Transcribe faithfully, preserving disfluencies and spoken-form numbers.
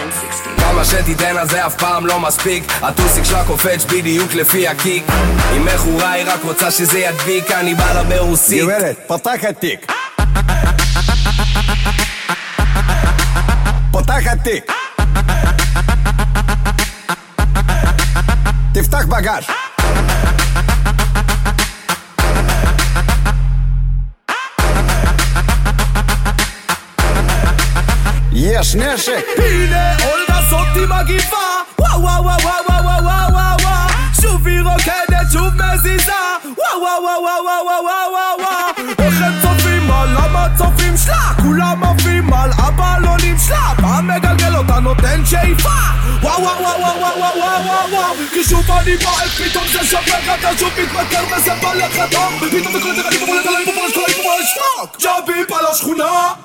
שש שש. כמה שתיתן אז זה אף פעם לא מספיק, הטוסיק שלה קופץ בדיוק לפי הקיק. אם מכורה היא רק רוצה שזה ידביק, אני בא לה ברוסית. גברת, פתח התיק, פתח התיק, תפתח בגש. יש נשק. הנה אולגה זאתי מגיבה, וואו וואו וואו וואו וואו וואו וואו, שוב היא רוקדת, שוב מזיזה, וואו וואו וואו וואו וואו וואו וואו. איך הם צופים על המצופים שלה, כולם עפים על הבלונים שלה, פעם מגלגל אותה נותן שאיפה, וואו וואו וואו וואו וואו וואו וואו וואו. כי שוב אני בועט, פתאום זה שופך, אתה שוב מתמכר וזה בא לך טוב, פתאום זה קולט, אני פופולט עליי, פופולט כל היפופולט שטוק, ג'אביפ על השכונה.